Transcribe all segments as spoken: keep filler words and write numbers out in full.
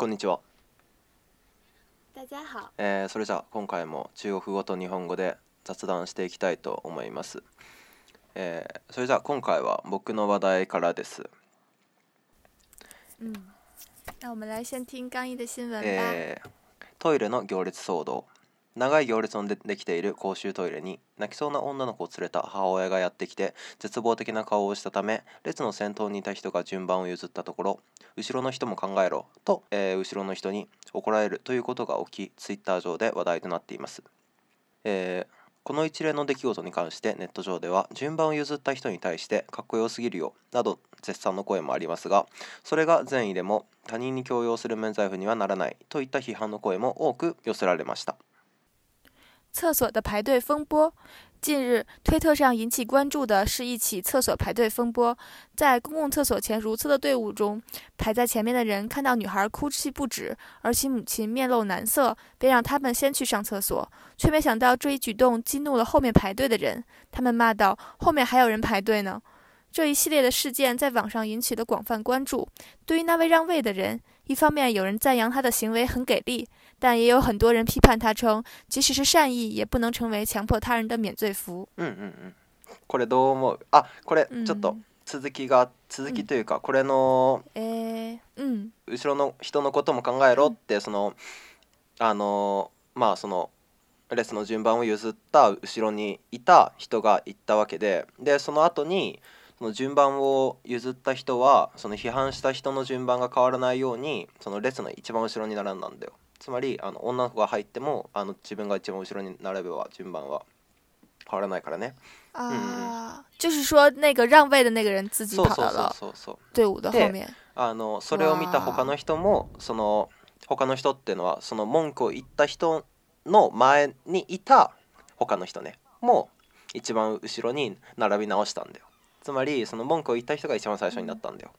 こんにちは。 大家好。 えー、それじゃあ今回も中国語と日本語で雑談していきたいと思います。えー、それじゃあ今回は僕の話題からです。 嗯，那我们来先听刚毅的新闻吧。 えー、トイレの行列騒動。長い行列のでできている公衆トイレに泣きそうな女の子を連れた母親がやってきて絶望的な顔をしたため、列の先頭にいた人が順番を譲ったところ、後ろの人も考えろと、えー後ろの人に怒られるということが起き、ツイッター上で話題となっています。えーこの一連の出来事に関してネット上では、順番を譲った人に対してかっこよすぎるよなど絶賛の声もありますが、それが善意でも他人に強要する免罪符にはならないといった批判の声も多く寄せられました。 厕所的排队风波。近日，推特上引起关注的是一起厕所排队风波。在公共厕所前如厕的队伍中，排在前面的人看到女孩哭泣不止，而其母亲面露难色，便让他们先去上厕所，却没想到这一举动激怒了后面排队的人。他们骂道：“后面还有人排队呢！”这一系列的事件在网上引起了广泛关注。对于那位让位的人，一方面有人赞扬他的行为很给力，但也有很多人批判他，称即使是善意也不能成为強迫他人的免罪符。 うんうんうん。これどう思う？あ、これちょっと続きが、続きというか、これのえー、うん。 後ろの人のことも考えろって、そのあのまあその列の順番を譲った後ろにいた人が言ったわけで、でその後にその順番を譲った人はその批判した人の順番が変わらないようにその列の一番後ろに並んだんだよ。つまりあの女の子が入ってもあの自分が一番後ろに並べば順番は変わらないからね。 啊、就是说那个让位的那个人自己そう跑到了そうそうそうそう。 队伍的后面。 あのそれを見た他の人もその他の人っていうのはその文句を言った人の前にいた他の人ねもう一番後ろに並び直したんだよ。つまりその文句を言った人が一番最初になったんだよ。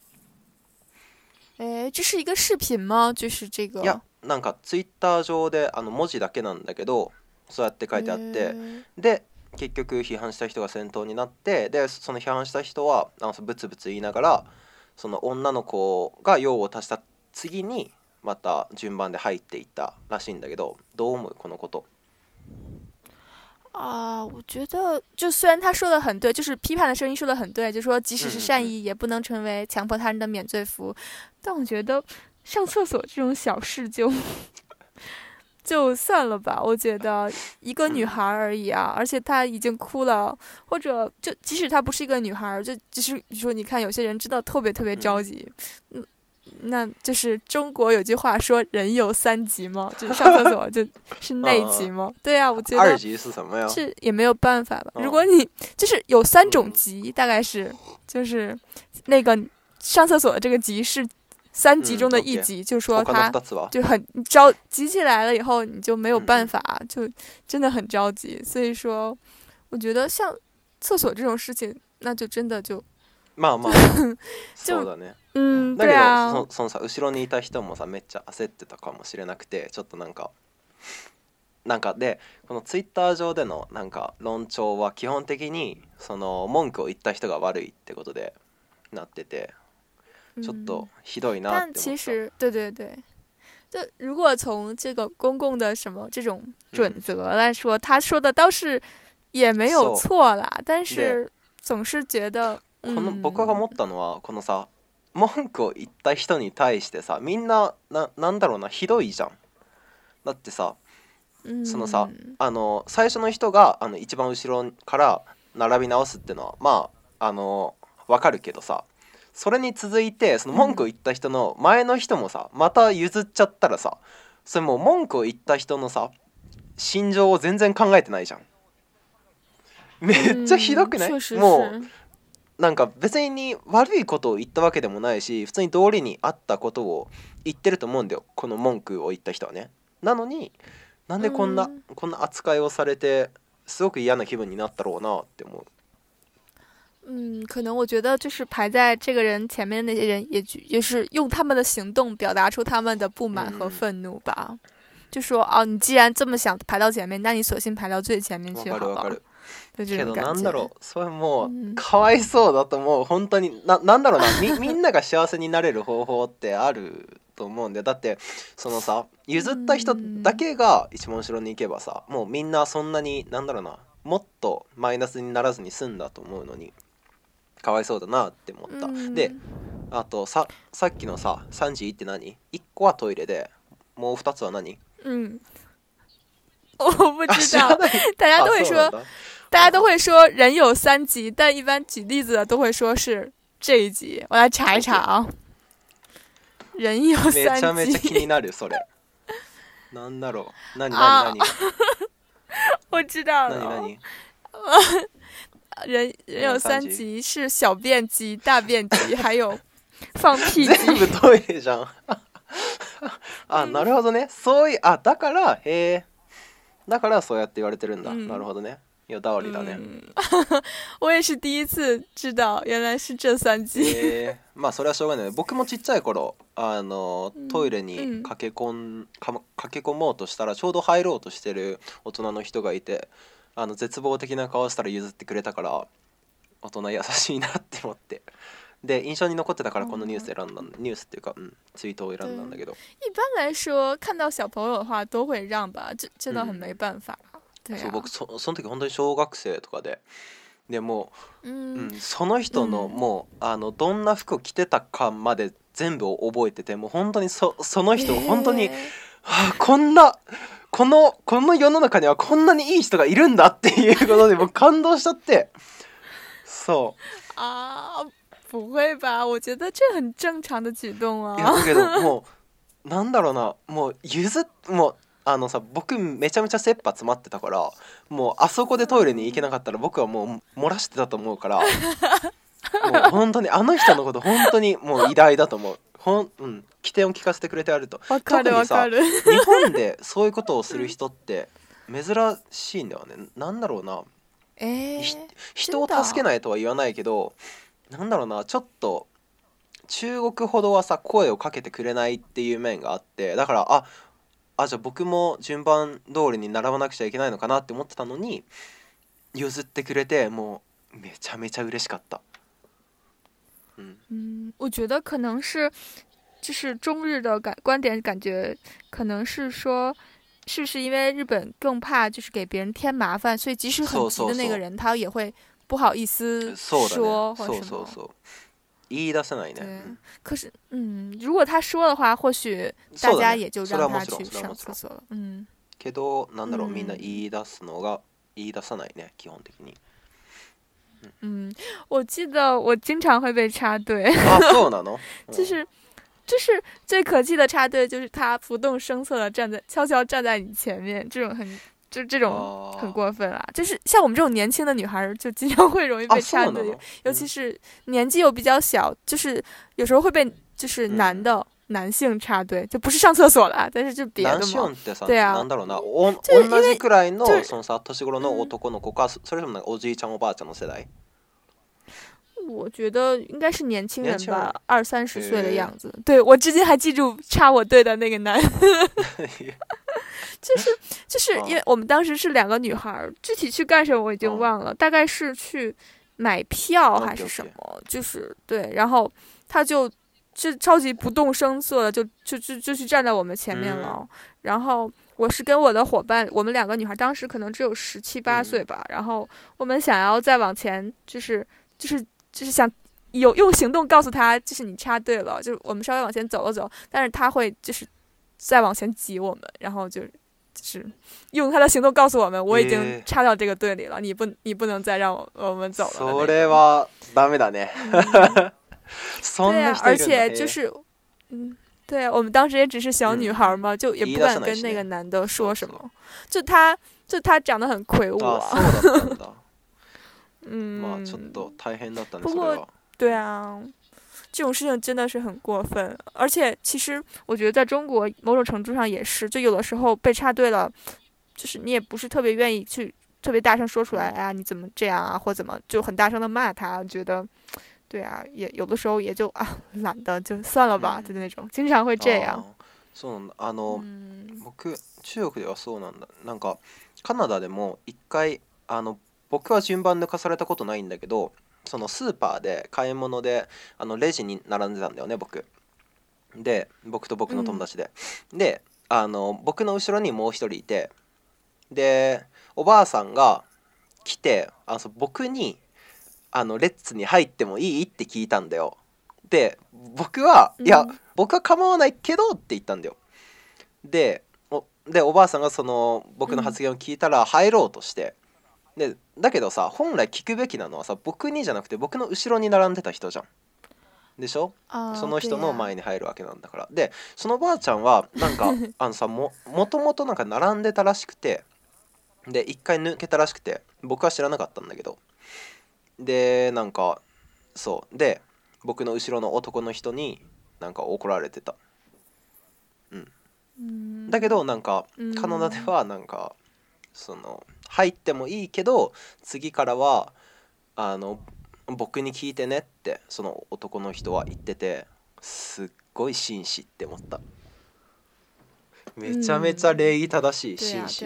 え、这是一个视频吗？就是这个。 いやなんかツイッター上であの文字だけなんだけどそうやって書いてあって、で結局批判した人が先頭になって、でその批判した人はあのブツブツ言いながらその女の子が用を足した次にまた順番で入っていったらしいんだけど、どう思うこのこと？ 啊，我觉得就虽然他说的很对，就是批判的声音说的很对，就说即使是善意也不能成为强迫他人的免罪符，但我觉得上厕所这种小事就就算了吧。我觉得一个女孩而已啊，而且她已经哭了，或者就即使她不是一个女孩，就就是你说你看有些人真的特别特别着急，嗯。那就是中国有句话说人有三急吗？就是上厕所就是内急吗？对啊，我觉得二急是什么呀？ 是也没有办法吧。如果你就是有三种急，大概是就是那个上厕所的这个急是三急中的一急，就是说他就很着急起来了以后你就没有办法，就真的很着急。所以说我觉得像厕所这种事情那就真的就まあまあそうだね。 うん、 だけど、 对啊、 その、そのさ後ろにいた人もさめっちゃ焦ってたかもしれなくて、ちょっとなんかなんかでこのツイッター上でのなんか論調は基本的にその文句を言った人が悪いってことでなってて、ちょっとひどいなって思った。 但其实对对对，就如果从这个公共的什么这种准则来说，他说的倒是也没有错啦，但是总是觉得。 この僕が思ったのはこのさ文句を言った人に対してさみんな な, なんだろうなひどいじゃん。だってさそのさあの最初の人があの一番後ろから並び直すってのはまああのわかるけどさ、それに続いてその文句を言った人の前の人もさまた譲っちゃったらさ、それもう文句を言った人のさ心情を全然考えてないじゃん。めっちゃひどくない？もうなんか別に悪いことを言ったわけでもないし、普通に道理にあったことを言ってると思うんだよこの文句を言った人はね。なのになんでこんな、うん、こんな扱いをされてすごく嫌な気分になったろうなって思う。 嗯，可能我觉得就是排在这个人前面的那些人也也是用他们的行动表达出他们的不满和愤怒吧。嗯、就说哦，你既然这么想排到前面，那你索性排到最前面去好了。 けどなんだろうそれもうかわいそうだと思う。本当に な, なんだろうな み, みんなが幸せになれる方法ってあるとと思うんだよ。だってそのさ譲った人だけが一番後ろに行けばさ、もうみんなそんなになんだろうな、もっとマイナスにならずに済んだと思うのにかわいそうだなって思った。であとささっきのささんじって何？いっこはトイレでもうふたつは何？ 嗯，我不知道，大家都会说， 啊、 大家都会说人有三急，但一般举例子的都会说是这一集。我来查一查啊，人有三急。 めちゃめちゃ気になるそれ。なんだろう？何何何？ 我知道了。 何何？ 人人有三急是小便急、大便急，还有放屁急。 全部トイレじゃん。あ、なるほどね。そういう、あ、だからへえ。だからそうやって言われてるんだ。うん、なるほどね。有道理だね。うん、 我也是第一次知道，原来是这三急。 えー、まあそれはしょうがない。僕もちっちゃい頃、あのトイレに駆け込ん、か駆け込もうとしたらちょうど入ろうとしてる大人の人がいて、あの絶望的な顔したら譲ってくれたから、大人優しいなって思って。で印象に残ってたからこのニュース選んだ、ニュースっていうか、うん、ツイートを選んだんだけど。 一般来说看到小朋友的话都会让吧，这真的很没办法。 うん、そう僕 そ, その時本当に小学生とかで、でもう、うんうん、その人の、うん、もうあのどんな服を着てたかまで全部覚えてて、もう本当に そ, その人本当に、はあ、こんなこのこの世の中にはこんなにいい人がいるんだっていうことで僕感動しちゃって。そうあー不会吧？我觉得这很正常的举动啊。 いやだけどもうなんだろうな、もう譲っもうあのさ僕めちゃめちゃ切羽詰まってたから、もうあそこでトイレに行けなかったら僕はもう漏らしてたと思うから、もう本当にあの人のこと本当にもう偉大だと思う。ほん、うん、起点を聞かせてくれてあると。 特にさ日本でそういうことをする人って珍しいんだよね。なんだろうな、 えー、 人を助けないとは言わないけど、なんだろうな、ちょっと中国ほどはさ声をかけてくれないっていう面があって、だからああじゃあ僕も順番通りに並ばなくちゃいけないのかなって思ってたのに譲ってくれて、もうめちゃめちゃ嬉しかった。 嗯嗯，我觉得可能是就是中日的感观点，感觉可能是说。是不是因为日本更怕就是给别人添麻烦，所以即使很急的那个人他也会不好意思说或者什么。 そうそうそう。言い出せないね。 对。可是，嗯，如果他说的话，或许大家也就让他去上厕所了。嗯。 けどなんだろう、みんな言い出すのが言い出さないね、基本的に。 嗯，我记得我经常会被插队。 あ、そうなの？ 就是。就是最可气的插队，就是他不动声色的站在悄悄站在你前面，这种很就这种很过分啊！就是像我们这种年轻的女孩，就经常会容易被插队，尤其是年纪又比较小，就是有时候会被就是男的、嗯、男性插队，就不是上厕所了，但是就别的嘛。对啊， なんだろうな、お同じくらいのそのさ年頃の男の子か、それともなんかおじいちゃんおばあちゃんの世代。 我觉得应该是年轻人吧，二三十岁的样子。对，我至今还记住插我队的那个男就是就是因为我们当时是两个女孩，具体去干什么我已经忘了，大概是去买票还是什么，就是对，然后他就就超级不动声色的就就就就去站在我们前面了，然后我是跟我的伙伴，我们两个女孩当时可能只有十七八岁吧，然后我们想要再往前，就是就是就是想有用行动告诉他，就是你插队了，就是我们稍微往前走了走，但是他会就是再往前挤我们，然后就就是用他的行动告诉我们，我已经插到这个队里了，你不你不能再让我我们走了。 それはダメだね。 对啊，而且就是嗯。对，我们当时也只是小女孩嘛，嗯、就也不敢跟那个男的说什么。就他，就他长得很魁梧啊。 嗯。まあちょっと大変だったね。 不过，对啊，这种事情真的是很过分。而且，其实我觉得在中国某种程度上也是，就有的时候被插队了，就是你也不是特别愿意去特别大声说出来，哎呀，你怎么这样啊，或怎么就很大声的骂他，觉得。对啊，也有的时候也就啊懒得就算了吧，就那种经常会这样。 そうなんだ。あの、うん、僕中国ではそうなんだ。なんかカナダでも一回あの僕は順番抜かされたことないんだけど、そのスーパーで買い物であのレジに並んでたんだよね僕。 で僕と僕の友達で、うん、であの僕の後ろにもう一人いて、でおばあさんが来て、あの僕にあのレッツに入ってもいいって聞いたんだよ。で僕は、うん、いや僕は構わないけどって言ったんだよ。で お, でおばあさんがその僕の発言を聞いたら入ろうとして、うん、でだけどさ、本来聞くべきなのはさ、僕にじゃなくて僕の後ろに並んでた人じゃんでしょ。その人の前に入るわけなんだから。でそのばあちゃんはなんかあのさ も, もともとなんか並んでたらしくて、で一回抜けたらしくて、僕は知らなかったんだけど、でなんかそうで僕の後ろの男の人になんか怒られてた。うん、だけどなんかカナダではなんかその入ってもいいけど次からはあの僕に聞いてねってその男の人は言ってて、すっごい紳士って思った。めちゃめちゃ礼儀正しい紳士。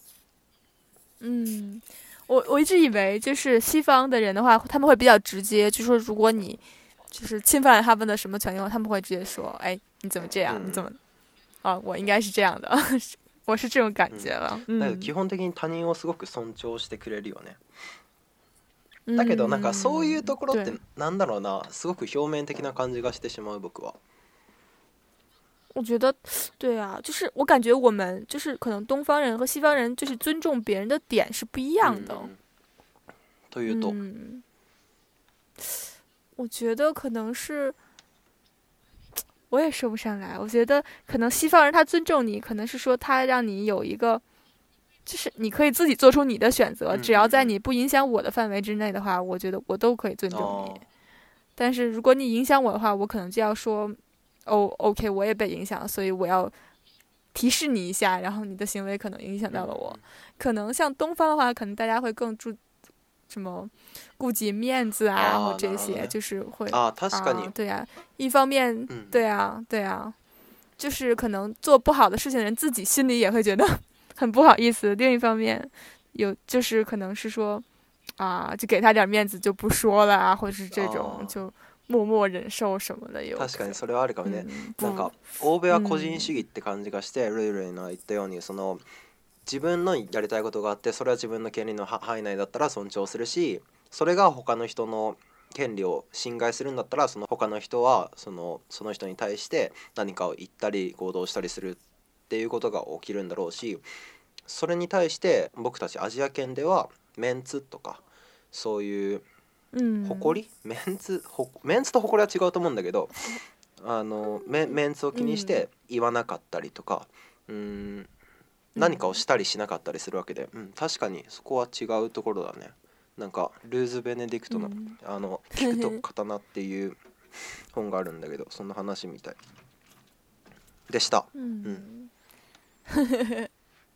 嗯，我我一直以为就是西方的人的话，他们会比较直接，就说如果你就是侵犯了他们的什么权利，他们会直接说，哎，你怎么这样？你怎么？啊，我应该是这样的，我是这种感觉了。 うん、だけど基本的に他人をすごく尊重してくれるよね。だけどなんかそういうところってなんだろうな、すごく表面的な感じがしてしまう僕は。 我觉得对啊，就是我感觉我们就是可能东方人和西方人就是尊重别人的点是不一样的。 嗯、というと、 嗯，我觉得可能是。我也说不上来，我觉得可能西方人他尊重你，可能是说他让你有一个，就是你可以自己做出你的选择，只要在你不影响我的范围之内的话，我觉得我都可以尊重你。哦、但是如果你影响我的话，我可能就要说，哦 ，OK， 我也被影响，所以我要提示你一下，然后你的行为可能影响到了我。可能像东方的话，可能大家会更注什么顾及面子啊，啊或这些，就是会啊，確かに、 啊，对啊，一方面，嗯、对啊，对啊，就是可能做不好的事情的人自己心里也会觉得很不好意思。另一方面，有就是可能是说啊，就给他点面子就不说了啊，或者是这种就默默忍受什么的。有確かにそれはあるかもね。うん、なんか欧米は個人主義って感じがして、ルイルイの言ったようにその。自分のやりたいことがあって、それは自分の権利の範囲内だったら尊重するし、それが他の人の権利を侵害するんだったら、その他の人はそのその人に対して何かを言ったり行動したりするっていうことが起きるんだろうし、それに対して僕たちアジア圏ではメンツとかそういう誇り、うん、メンツメンツと誇りは違うと思うんだけど、あの メ, メンツを気にして言わなかったりとか、うーん何かをしたりしなかったりするわけで、うん、確かにそこは違うところだね。なんかルーズ・ベネディクトの、うん、あの聞くと刀っていう本があるんだけど、そんな話みたいでした。うんうんうん、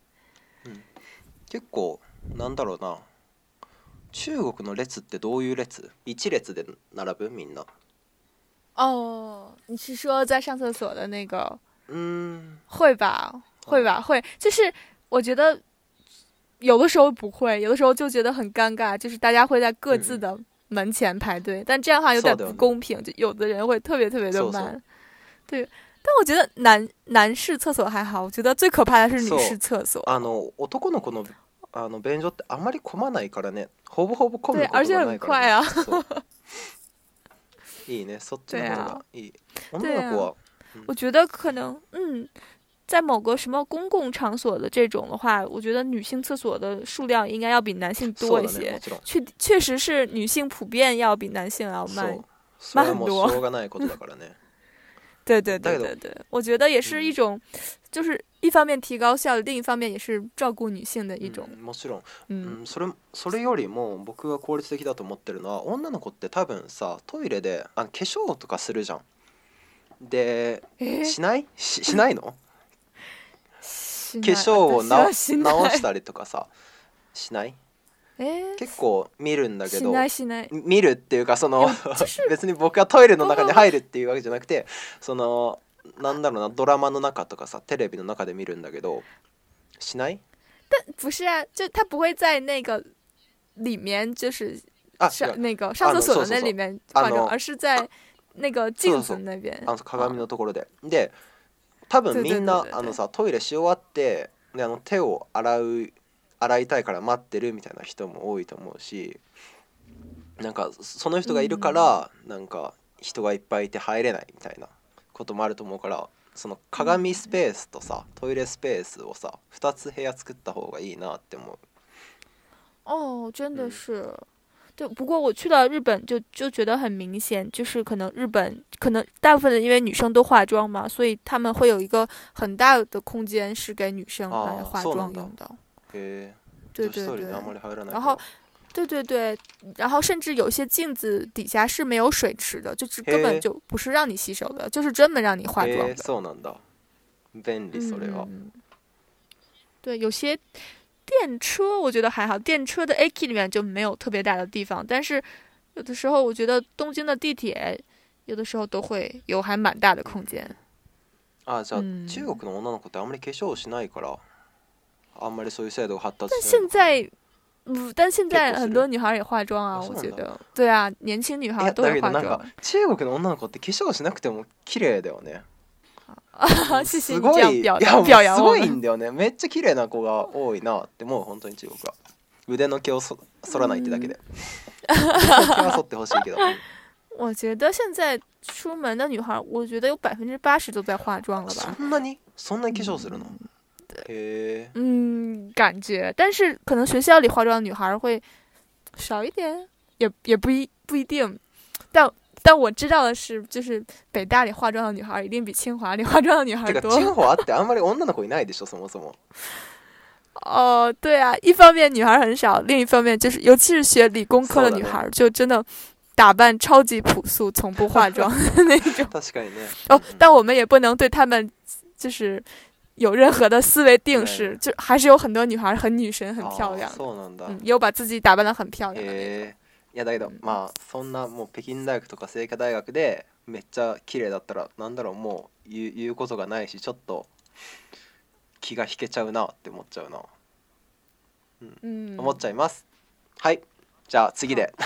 結構なんだろうな、中国の列ってどういう列？一列で並ぶみんな。 哦，你是说在上厕所的那个？嗯，会吧。会吧，会，就是我觉得有的时候不会，有的时候就觉得很尴尬，就是大家会在各自的门前排队，嗯、但这样的话有点不公平，就有的人会特别特别的慢。对，但我觉得男男士厕所还好，我觉得最可怕的是女士厕所。 あの男の子のあの便所ってあまり混まないからね、ほぼほぼ混むことがないから、ね。对，而且很快啊。いいね、そっちの方がいい。女の子は、 嗯、我觉得可能嗯。在某个什么公共场所的这种的话，我觉得女性厕所的数量应该要比男性多一些。确确实是女性普遍要比男性要慢慢很多。对对对对对，我觉得也是一种，就是一方面提高效率，另一方面也是照顧女性的一種。 もちろん、うん、それそれよりも僕が効率的だと思ってるのは、女の子って多分さトイレであの化粧とかするじゃん。で、えー、しない し, しないの？化粧を直したりとかさしない？えー、結構見るんだけど、 しないしない見るっていうかその別に僕はトイレの中に入るっていうわけじゃなくて、そのなんだろうな、ドラマの中とかさテレビの中で見るんだけど、しない？ 但不是啊，就他不会在那个里面就是上那个上厕所的那里面放着，而是在那个镜子那边。 あの鏡のところで。で、多分みんなあのさトイレし終わってであの手を洗う洗いたいから待ってるみたいな人も多いと思うし、なんかその人がいるから、うん、なんか人がいっぱいいて入れないみたいなこともあると思うから、その鏡スペースとさ、トイレスペースをさふたつ部屋作った方がいいなって思う。 哦，真的是。嗯，对，不过我去到日本就就觉得很明显，就是可能日本可能大部分的因为女生都化妆嘛，所以他们会有一个很大的空间是给女生来化妆用的。 へえ。 对对对。然后，对对对，然后甚至有些镜子底下是没有水池的，就是根本就不是让你洗手的，就是专门让你化妆的。 そうなんだ。便利それは。 嗯，对，有些。电车我觉得还好，电车的 A K 里面就没有特别大的地方，但是有的时候我觉得东京的地铁有的时候都会有还蛮大的空间。 あ、じゃあ、うん、中国の女の子ってあんまり化粧しないから、あんまりそういう制度が発達但现在，嗯，但现在很多女孩也化妆啊，我觉得。对啊，年轻女孩都会化妆。 中国の女の子って化粧しなくても綺麗だよね。 あ、謝謝你这样表表扬我们。 すごいんだよね。めっちゃ綺麗な子が多いなってもう本当に中国は。腕の毛をそ剃らないってだけで。毛は剃ってほしいけど。 我觉得现在出门的女孩，我觉得有百分之八十都在化妆了吧。 そんなにそんなに化粧するの？へえ。 嗯，感觉，但是可能学校里化妆的女孩会少一点，也也不一不一定，但。但我知道的是，就是北大里化妆的女孩一定比清华里化妆的女孩多。 清華ってあんまり女の子いないでしょ、そもそも。 哦，对啊，一方面女孩很少，另一方面就是，尤其是学理工科的女孩，就真的打扮超级朴素，从不化妆的那种。 確かにね。 哦，但我们也不能对他们就是有任何的思维定式，就还是有很多女孩很女神、很漂亮。 そうなんだ。 嗯，也有把自己打扮得很漂亮的那种。 いやだけど、まあそんなもう北京大学とか清華大学でめっちゃ綺麗だったらなんだろう、もう言う、言うことがないし、ちょっと気が引けちゃうなって思っちゃうな、うん、思っちゃいます。はい、じゃあ次で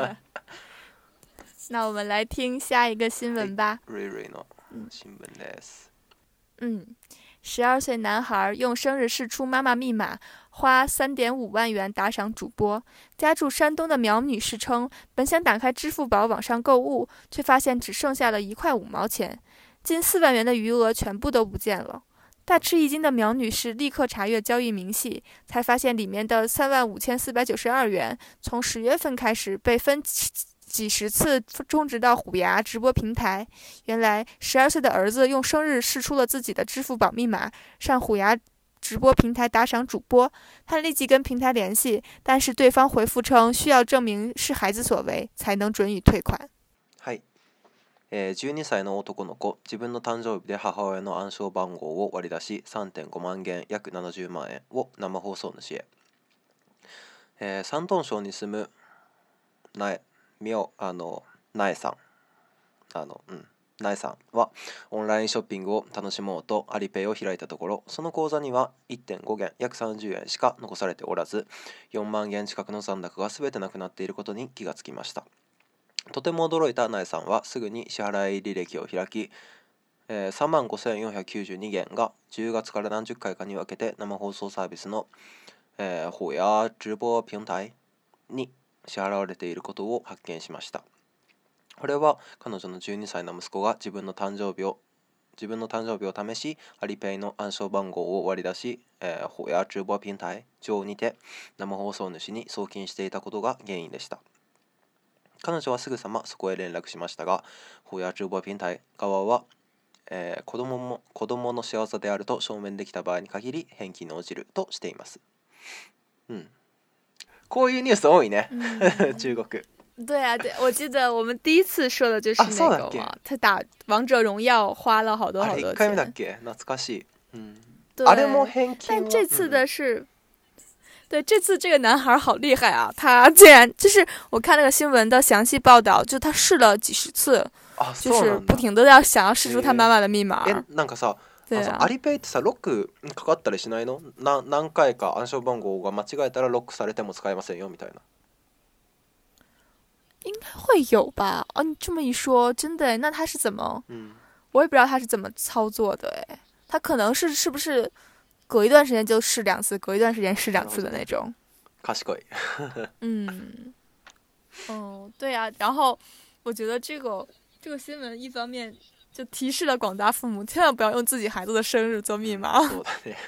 那我们来听下一个新闻吧。 瑞瑞の新聞です。 嗯。十二岁男孩用生日试出妈妈密码，花三点五万元打赏主播。家住山东的苗女士称，本想打开支付宝网上购物，却发现只剩下了一块五毛钱，近四万元的余额全部都不见了。大吃一惊的苗女士立刻查阅交易明细，才发现里面的三万五千四百九十二元，从十月份开始被分几十次充值到虎牙直播平台。原来十二岁的儿子用生日试出了自己的支付宝密码，上虎牙直播平台打赏主播。他立即跟平台联系，但是对方回复称需要证明是孩子所为才能准予退款。 はい、えー、じゅうにさいの男の子、自分の誕生日で母親の暗証番号を割り出し さんてんごまん元約ななじゅうまん円を生放送主へ。えー、山東省に住む苗みおあの苗さんあのうん苗さんはオンラインショッピングを楽しもうとアリペイを開いたところ、その口座には いってんご 元約さんじゅうえんしか残されておらず、よんまん元近くの残高が全てなくなっていることに気がつきました。とても驚いた苗さんはすぐに支払い履歴を開き、えー、さんまんごせんよんひゃくきゅうじゅうに元がじゅうがつから何十回かに分けて生放送サービスの、えー、虎牙直播平台に支払われていることを発見しました。これは彼女のじゅうにさいの息子が自分の誕生日を自分の誕生日を試し、アリペイの暗証番号を割り出し、えー、虎牙直播平台上にて生放送主に送金していたことが原因でした。彼女はすぐさまそこへ連絡しましたが、虎牙直播平台側は、えー、子供も子供の仕業であると証明できた場合に限り返金に応じるとしています。うん。こういうニュース多いね、中国。 对啊，对，我记得我们第一次说的就是那个嘛，他打王者荣耀花了好多好多钱。 あれ一回目だっけ？懐かしい。嗯，あれも返金。 但这次的是，嗯、对，这次这个男孩好厉害啊！他竟然就是我看那个新闻的详细报道，就他試了几十次，就是不停的要想要試出他妈妈的密码。 え、なんかさ。アリペイってさロックかかったりしないの？な何回か暗証番号が間違えたらロックされても使えませんよみたいな。 应该会有吧？哦，你这么一说，真的，那他是怎么？ 嗯， 我也不知道他是怎么操作的，哎，他可能是是不是隔一段时间就试两次，隔一段时间试两次的那种。 賢い。 嗯，哦，对呀、啊，然后我觉得这个这个新闻一方面就提示了广大父母，千万不要用自己孩子的生日做密码。 そうだね。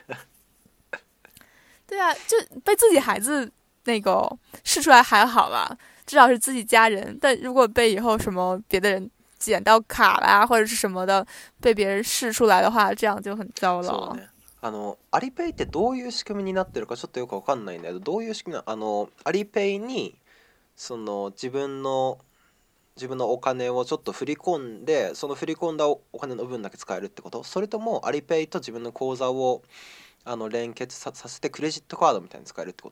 对啊，就被自己孩子那个试出来还好吧，至少是自己家人。但如果被以后什么别的人捡到卡啦或者是什么的，被别人试出来的话，这样就很糟了。 そうね。あのアリペイってどういう仕組みになってるかちょっとよくわかんないんだけど、どういう仕組みなあのアリペイにその自分の自分のお金をちょっと振り込んで、その振り込んだお金の分だけ使えるってこと？それともアリペイと自分の口座をあの連結 さ, させてクレジットカードみたいに使えるってこと？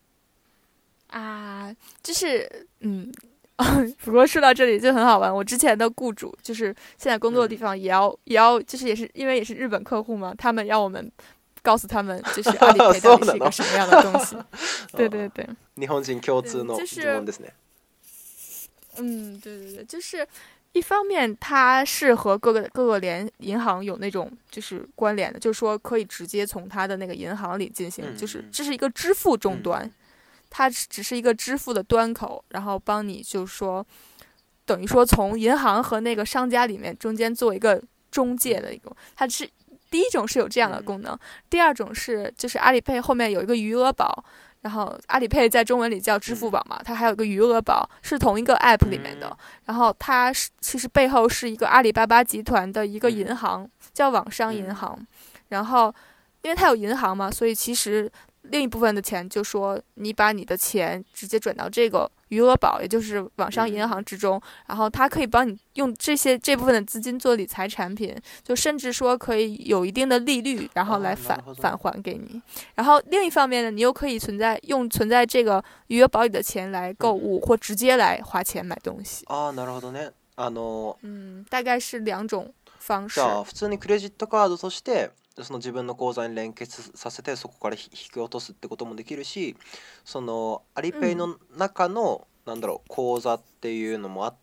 啊，就是嗯。不过说到这里就很好玩，我之前的雇主就是现在工作的地方也要、嗯、也要就是也是因为也是日本客户嘛，他们让我们告诉他们就是阿里配到底是一个什么样的东西。对对对， 日本人共通の疑問ですね。 嗯，对对对，就是一方面它是和各个各个联银行有那种就是关联的，就是说可以直接从它的那个银行里进行，嗯、就是这是一个支付终端。嗯，它只是一个支付的端口，然后帮你就是说，等于说从银行和那个商家里面中间做一个中介的一个，它是第一种是有这样的功能，第二种是就是阿里配后面有一个余额宝，然后阿里配在中文里叫支付宝嘛，它还有个余额宝是同一个 app 里面的，然后它是其实背后是一个阿里巴巴集团的一个银行叫网商银行，然后因为它有银行嘛，所以其实另一部分的钱就说你把你的钱直接转到这个余额宝，也就是网商银行之中，然后它可以帮你用这些这部分的资金做理财产品，就甚至说可以有一定的利率，然后来返返还给你。然后另一方面呢，你又可以存在用存在这个余额宝里的钱来购物，或直接来花钱买东西。 あ、なるほどね。あの、 嗯，大概是两种方式。 じゃあ普通にクレジットカードとしてその自分の口座に連結させてそこから引き落とすってこともできるし、そのアリペイの中の、うん、なんだろう口座っていうのもあって、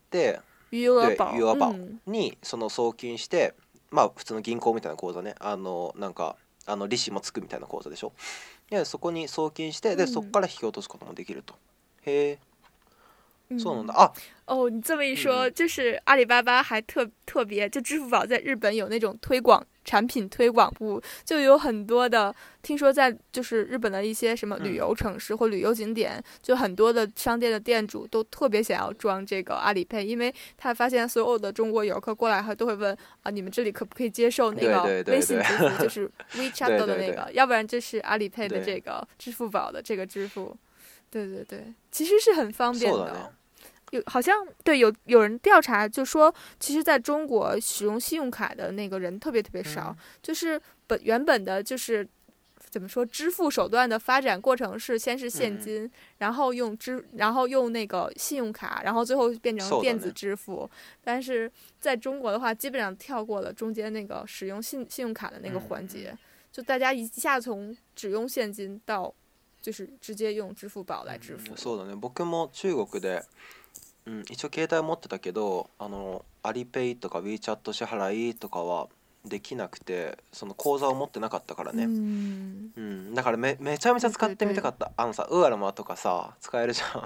余額宝余額宝にその送金して、うん、まあ普通の銀行みたいな口座ね、あのなんかあの利子もつくみたいな口座でしょ。でそこに送金して、でそこから引き落とすこともできると。へえ。そうなんだ啊！ 哦，你这么一说，嗯、就是阿里巴巴还特特别，就支付宝在日本有那种推广产品推广部，就有很多的，听说在就是日本的一些什么旅游城市或旅游景点，嗯、就很多的商店的店主都特别想要装这个阿里 Pay， 因为他发现所有的中国游客过来后都会问啊，你们这里可不可以接受那个微信支付，就是 WeChat 的那个，对对对，要不然就是阿里 Pay 的这个支付宝的这个支付，对对对，其实是很方便的。有好像对有有人调查就说，其实在中国使用信用卡的那个人特别特别少，嗯、就是本原本的就是怎么说支付手段的发展过程是先是现金，嗯、然后用支然后用那个信用卡，然后最后变成电子支付。但是在中国的话，基本上跳过了中间那个使用信信用卡的那个环节，嗯、就大家一下从只用现金到就是直接用支付宝来支付。 嗯、そうだね。僕も中国で。うん、一応携帯持ってたけど、あのアリペイとか WeChat 支払いとかはできなくて、その口座を持ってなかったからね。うん、うん、だから め, めちゃめちゃ使ってみたかった。あのさ、ウアラマとかさ使えるじゃん。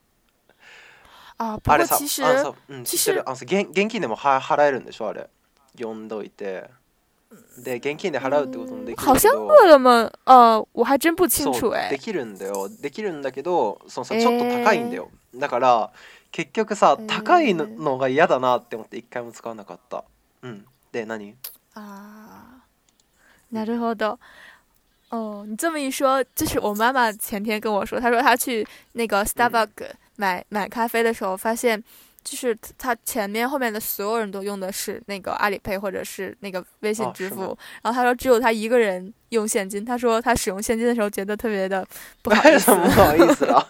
あ、あれさ、あのさ、 うん、知ってる。あのさ、現現金でもは払えるんでしょあれ。読んどいて。で現金で払うってこともできるけど、好像饿了么呃我还真不清楚哎。 できるんだよ。できるんだけど、そのさちょっと高いんだよ。えー、だから結局さ高いのが嫌だなって思って一回も使わなかった。うん。で何？ 啊，なるほど。哦，你这么一说，就是我妈妈前天跟我说，她说她去那个 Starbucks 买、嗯、买咖啡的时候，发现就是她前面后面的所有人都用的是那个阿里 Pay 或者是那个微信支付，哦、然后她说只有她一个人用现金。她说她使用现金的时候觉得特别的不好意思。 不好意思啊。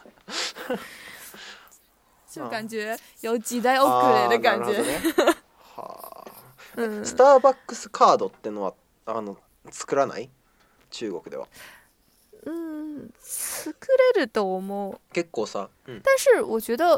就感觉有時代遅れ的感觉。 はあ。うん、スターバックスカードってのはあの作らない？中国では。 嗯，作れると思う。 結構さ。 嗯、但是我觉得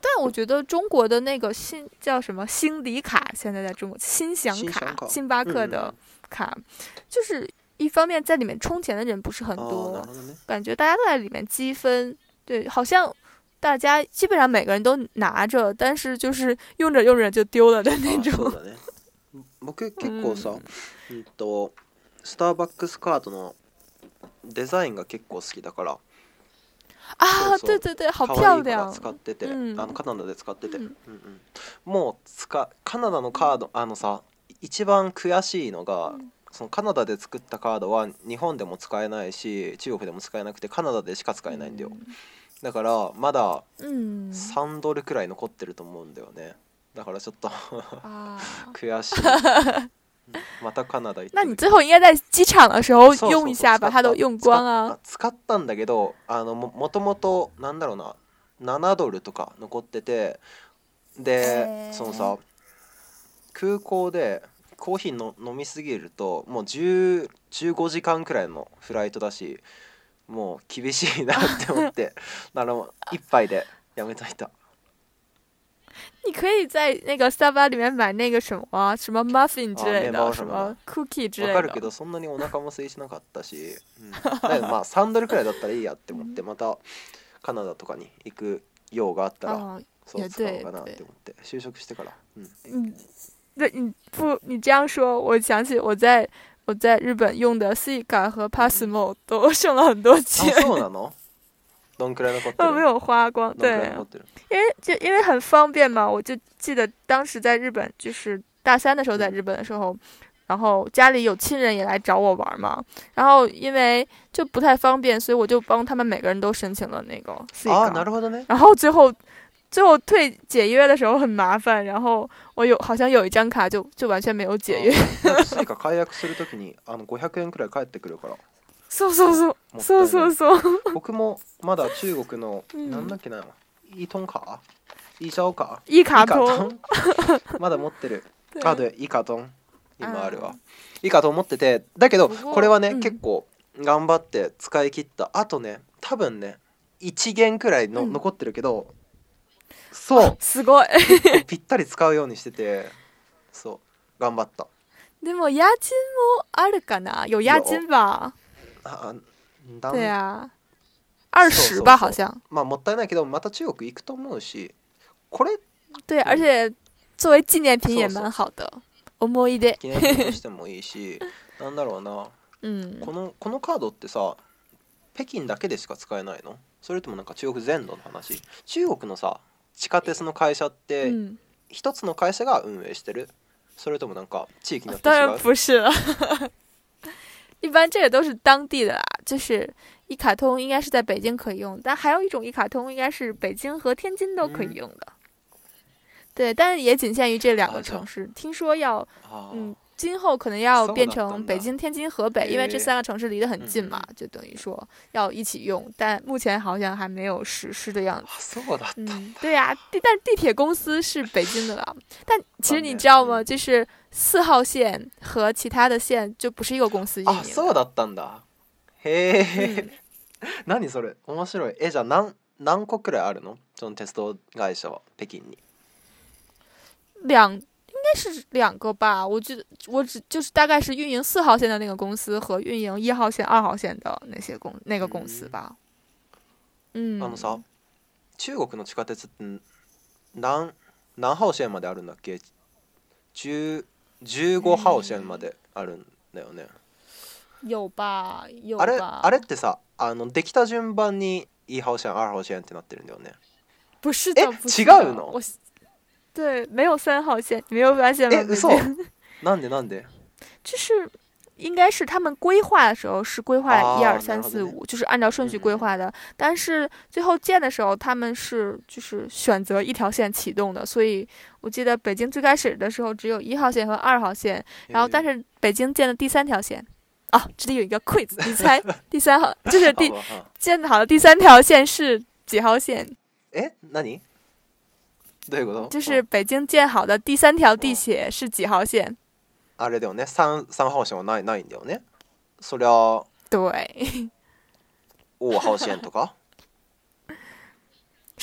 但我觉得中国的那个新叫什么新礼卡，现在在中国新享卡，星巴克的卡，就是一方面在里面充钱的人不是很多，哦、感觉大家都在里面积分，对，好像大家基本上每个人都拿着，但是就是用着用着就丢了的那种。 啊、ね、僕結構さ、うん、うんとスターバックスカードのデザインが結構好きだから。 ああ、对对对、好漂亮。 使ってて、うん、あのカナダで使ってて、うんうんうん、もう使カナダのカード、あのさ、一番悔しいのが、うん、そのカナダで作ったカードは日本でも使えないし、中国でも使えなくてカナダでしか使えないんだよ。うん、だからまださんドルくらい残ってると思うんだよね。だからちょっと悔しい。またカナダ行って。 那你最后应该在機場的時候用一下，把它都用光啊。 使ったんだけど、あの も, もともとなんだろうな、ななドルとか残ってて、で、そのさ、空港でコーヒーの飲みすぎるともうじゅう、じゅうごじかんくらいのフライトだし、もう厳しいなって思って、だから一杯でやめといた。 你可以在那个 Starbucks 里面买那个什么什么 muffin 之类的，什么 cookie 之類的。 わかるけどそんなにお腹も空いしなかったし、うん、だけどまあさんドルくらいだったらいいやって思って、またカナダとかに行く用があったらそう使おうかなって思って就職してから。 嗯，对，你不你这样说，我想起我在我在日本用的 Suica 和 Passmo 都剩了很多钱。 あ、そうなの？どんくらい残ってる？ 没有花光，对，因为就因为很方便嘛，我就记得当时在日本，就是大三的时候在日本的时候，然后家里有亲人也来找我玩嘛，然后因为就不太方便，所以我就帮他们每个人都申请了那个 Suica。 啊，なるほどね。 然後最後最後退解約的時候很麻煩，然後我有好像有一張卡就就完全沒有解約。 Suica解約するときにあのごひゃくえんくらい返ってくるから。 そうそうそうそうそうそう。 僕もまだ中国の、うん、なんだっけな、イートンカー、イーシャオカー、イーカトンまだ持ってる。あ、でイーカトン今あるわ。イーカトン持ってて、だけどこれはね、うん、結構頑張って使い切った。あとね、多分ねいちげんくらいの、うん、残ってるけど、そうすごいぴったり使うようにしてて、そう頑張った。 でも家賃もあるかな？有押金吧？ あ、 对啊，二十吧，好像。 まあもったいないけど、また中国行くと思うし、これ。 对，而且作为纪念品也蛮好的。思い出。 紀念品としてもいいし、なんだろうな。 うん。 このこのカードってさ、北京だけでしか使えないの？それともなんか中国全土の話？中国のさ、地下鉄の会社って一つの会社が運営してる？それともなんか地域によって違う？ 当然不是了。一般这个都是当地的啦，就是一卡通应该是在北京可以用，但还有一种一卡通应该是北京和天津都可以用的。嗯、对，但是也仅限于这两个城市。听说要，嗯，今后可能要变成北京、天津、河北，因为这三个城市离得很近嘛，就等于说要一起用，但目前好像还没有实施的样子。嗯，对呀、啊，地但地铁公司是北京的啦。但其实你知道吗？就是四号線和其他的線就不是一個公司運營。 あ、そうだったんだ。へえ。何それ？面白い。え、じゃあ何何個くらいあるの？その鉄道会社は北京に。 两。应该是两个吧，我觉得我只就是大概是运营四号线的那个公司和运营一号线、二号線的那些公那个公司吧。 うん。あのさ、中国の地下鉄って何何号線まであるんだっけ？十十五号線まであるんだよね。 有吧、有吧。 あれあれってさ、あのできた順番に一号線、二号線ってなってるんだよね。 不是的， え、違うの？ 对，没有三号线，你没有发现吗？ え、嘘？なんでなんで？ 就是应该是他们规划的时候是规划一二三四五，就是按照顺序规划的。嗯、但是最后建的时候，他们是就是选择一条线启动的，所以我记得北京最开始的时候只有一号线和二号线，然后但是北京建了第三条线。啊，这里有一个 quiz， 你猜第三号就是第建好的第三条线是几号线？ え、何？どういうこと？ 就是北京建好的第三条地铁是几号线？ あれだよね、三三号線はないないんだよね。そりゃ对。 五号線とか？ 十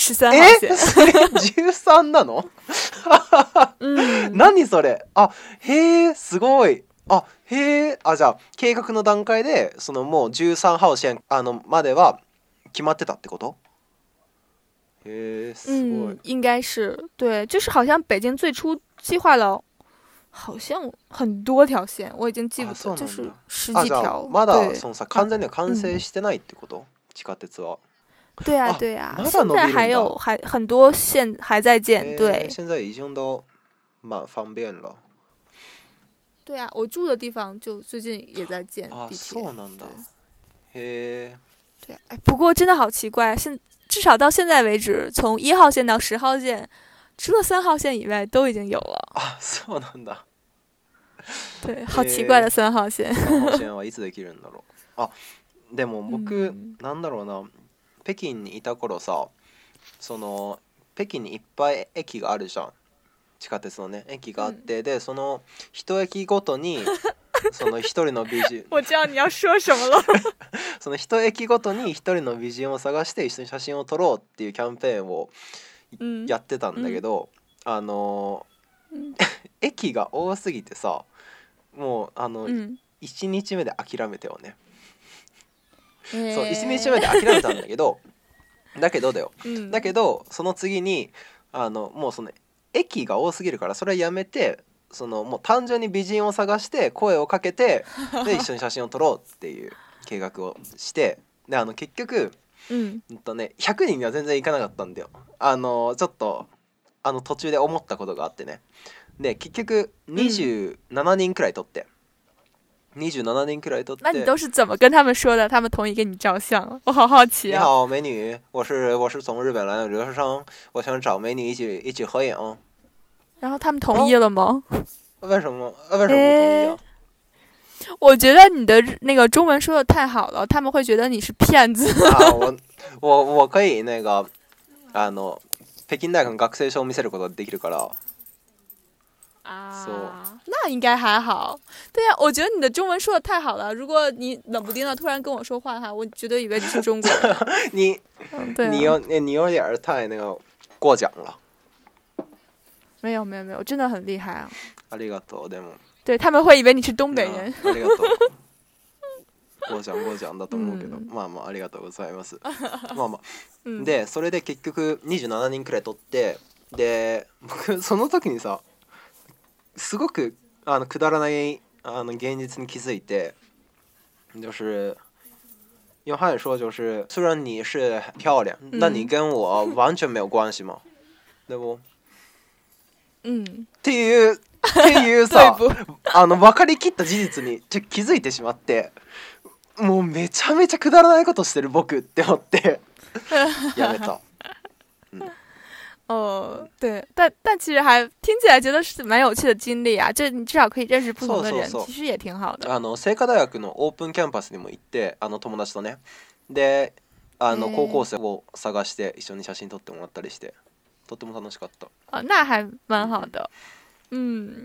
十三号え線。 それじゅうさんなの？ うん。 何それ？あ、へえ、すごい。あ、へえ、あ、じゃあ計画の段階でそのもうじゅうさん号線あのまでは決まってたってこと？へえ、すごい。 嗯，应该是对，就是好像北京最初计划了，好像很多条线，我已经记不あ、そ得， うなん就是だ。 十あ、じゃあ几条。 まだ对， そのさ啊， 完全には完成嗯， してないってこと？地下鉄は。 对呀， あ、 对呀， まだ现在伸びるんだ。 还有还很多线还在建。 へえ、 对， 现在已经都蛮方便了。 对呀，我住的地方就最近也在建あ、 地铁。 そうなんだ。 对， へえ。 对，哎，不过真的好奇怪，现至少到现在为止，从一号线到十号线，除了三号线以外都已经有了。 あ、そうなんだ。 对，好奇怪的三号線。 さん号線はいつできるんだろう。あ、でも僕、 うん、 なんだろうな、北京にいた頃さ、その北京にいっぱい駅があるじゃん。地下鉄のね駅があって、うん、でその一駅ごとにその一人の美人我知道你要说什么了その一駅ごとに一人の美人を探して一緒に写真を撮ろうっていうキャンペーンをやってたんだけど、うん、あの、うん、駅が多すぎてさ、もうあの、うん、いちにちめで諦めたよね、えー、そういちにちめで諦めたんだけどだけどだよ、うん、だけどその次にあのもうその駅が多すぎるからそれはやめて、そのもう単純に美人を探して声をかけてで一緒に写真を撮ろうっていう計画をして、であの結局、うん、うんとね、ひゃくにんには全然いかなかったんだよ。あのちょっとあの途中で思ったことがあってね。で結局にじゅうななにんくらい撮って、うん、にじゅうななにんくらい撮って。 那你都是怎么跟他们说的？他们同意给你照相？我好好奇啊。 你好，美女，我是我是从日本来的留学生，我想找美女一起一起合影。 然后他们同意了吗？ 为什么？为什么不同意啊？ 我觉得你的那个中文说的太好了，他们会觉得你是骗子。 啊，我我我可以那个あの北京大学の学生証を見せることができるから。 啊，那应该还好。对呀、啊，我觉得你的中文说的太好了。如果你冷不丁的突然跟我说话的话，我绝对以为你是中国人。 你、 嗯对啊、 你有你有点太那个过奖了。 没有没有没有，真的很厉害啊！ ありがとう。でも对他们会以为你是东北人。 ありがとう。ごちゃんごちゃんだと思うけど、うん、まあまあありがとうございます。まあまあ、うん、でそれで結局にじゅうななにんくらい取って、で僕その時にさすごくあのくだらないあの現実に気づいて、就是用汉语说就是虽然你是漂亮，但你跟我完全没有关系嘛。でもうんっていうっていうさあの分かりきった事実にちょ気づいてしまって、もうめちゃめちゃくだらないことしてる僕って思ってやめた。嗯哦，对，但但其实还听起来觉得是蛮有趣的经历啊，这你至少可以认识不同的人， そうそうそう其实也挺好的。 あの清華大学のオープンキャンパスにも行って、あの友達とね、であの高校生を探して一緒に写真撮ってもらったりして、とっても楽しかった。 あ、那还蛮好的。うん。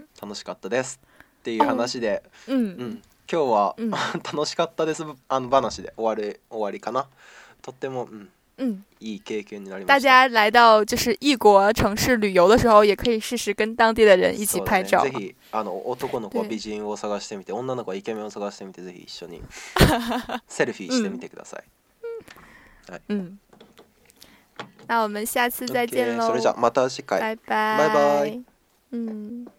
楽しかったですっていう話で、 うん、うん 、今日は、うん、楽しかったですあの話で終わり終わりかな。とっても、うん嗯， いい経験になりました。 大家来到就是异国城市旅游的时候，也可以试试跟当地的人一起拍照。 ぜひあの男の子は美人を探してみて、女の子はイケメンを探してみて、ぜひ一緒にセルフィーしてみてください。 嗯、はい。嗯。那我们下次再见喽。 それじゃまた次回。 拜拜。 拜拜。 嗯。